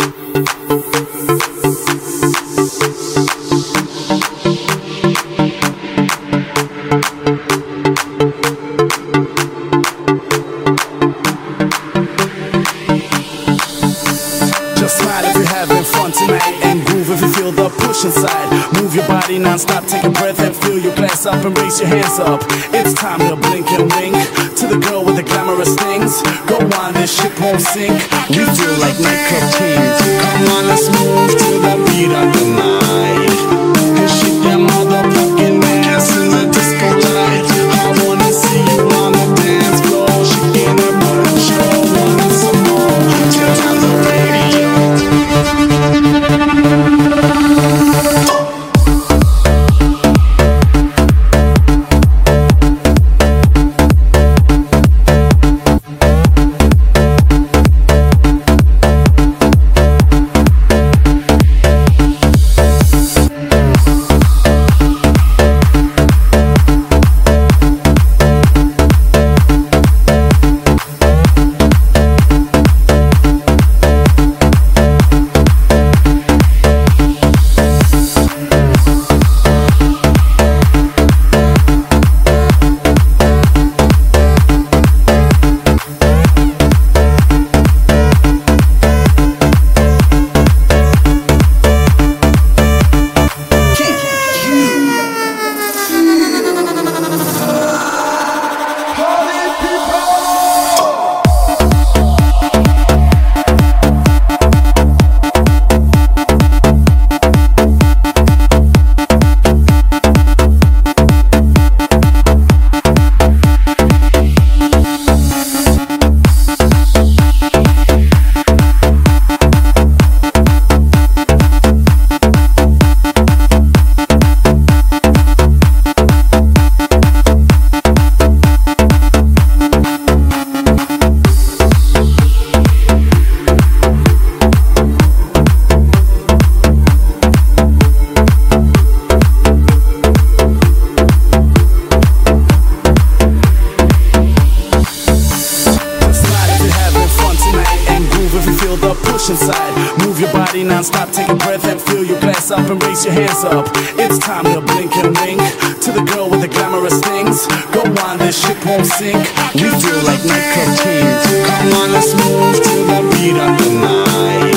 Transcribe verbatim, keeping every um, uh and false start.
Just smile if you're having fun tonight, and groove if you feel the push inside. Move your body non-stop, take a breath and fill your glass up and raise your hands up. It's time to blink and wink to the girl with the glamorous things. Go on, this ship won't sink. We feel like nightclub kings. Come on, let's move to the beat of the night and shake that motherfucking ass in the disco light. I wanna see you on the dance floor, shaking that butt, show wanting some more. Turn on the radio. Inside. Move your body non-stop, take a breath and fill your glass up and raise your hands up. It's time to blink and wink to the girl with the glamorous things. Go on, this ship won't sink. We feel like nightclub kings. Come on, let's move to the beat of the night